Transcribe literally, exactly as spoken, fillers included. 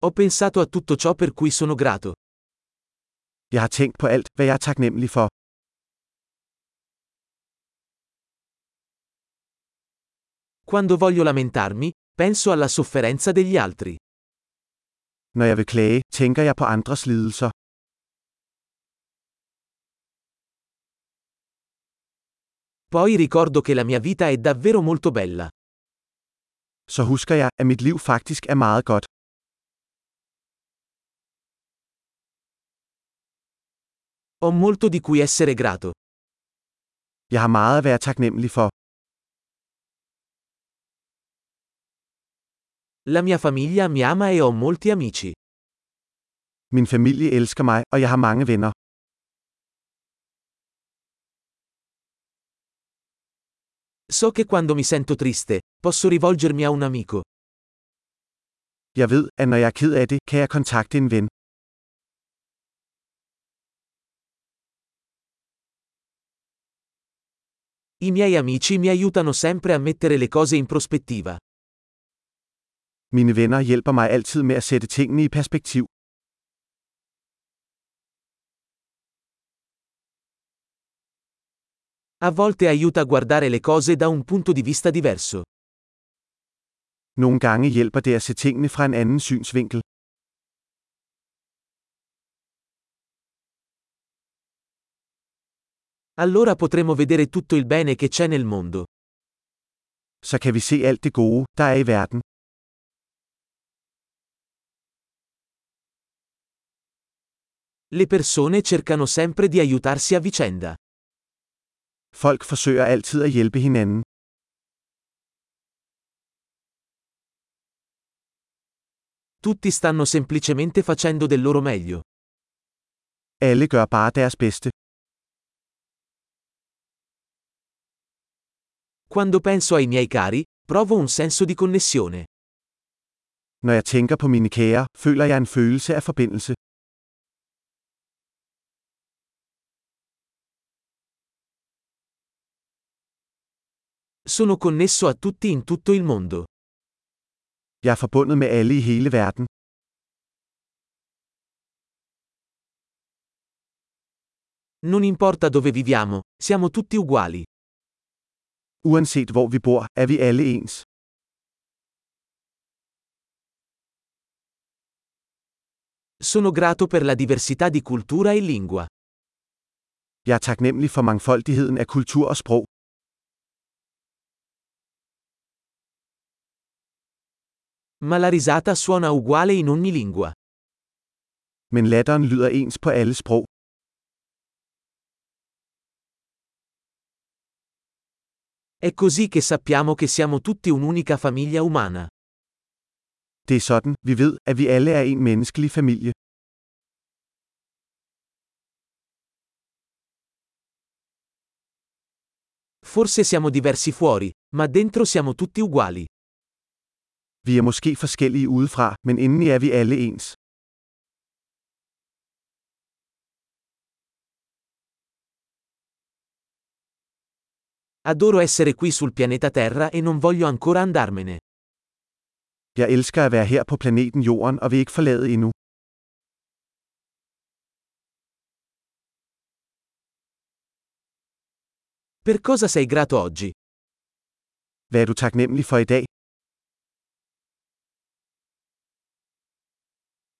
Ho pensato a tutto ciò per cui sono grato. Jeg har tænkt på alt, hvad jeg er taknemmelig for. Quando voglio lamentarmi, penso alla sofferenza degli altri. Når jeg vil klage, tænker jeg på andres lidelser. Poi ricordo che la mia vita è davvero molto bella. Så husker jeg, at mit liv faktisk er meget godt. Ho molto di cui essere grato. Jeg har meget at være taknemmelig for. La mia famiglia mi ama e ho molti amici. Min familie elsker mig, og jeg har mange venner. So che quando mi sento triste, posso rivolgermi a un amico. Jeg ved, at når jeg er ked af det, kan jeg kontakte en ven. I miei amici mi aiutano sempre a mettere le cose in prospettiva. Mine venner hjælper mig altid med at sætte tingene i perspektiv. A volte aiuta a guardare le cose da un punto di vista diverso. Nogle gange hjælper det at se tingene fra en anden synsvinkel. Allora potremo vedere tutto il bene che c'è nel mondo. Så kan vi se alt det gode, der er i verden. Le persone cercano sempre di aiutarsi a vicenda. Folk forsøger altid at hjælpe hinanden. Tutti stanno semplicemente facendo del loro meglio. Alle gør bare deres bedste. Quando penso ai miei cari, provo un senso di connessione. Når jeg tænker på mine kære, føler jeg en følelse af forbindelse. Sono connesso a tutti in tutto il mondo. Jeg er forbundet med alle i hele verden. Non importa dove viviamo, siamo tutti uguali. Uanset hvor vi bor, er vi alle ens. Sono grato per la diversità di cultura e lingua. Jeg er taknemmelig for mangfoldigheden af kultur og sprog. Ma la risata suona uguale in ogni lingua. Men latteren lyder ens på alle sprog. È così che sappiamo che siamo tutti un'unica famiglia umana. Det er sådan, vi ved, at vi alle er en menneskelig familie. Forse siamo diversi fuori, ma dentro siamo tutti uguali. Vi er måske forskellige udefra, men indeni er vi alle ens. Adoro essere qui sul pianeta Terra e non voglio ancora andarmene. Jeg elsker at være her på planeten Jorden og vil ikke forlade endnu. Per cosa sei grato oggi? Hvad er du taknemmelig for i dag?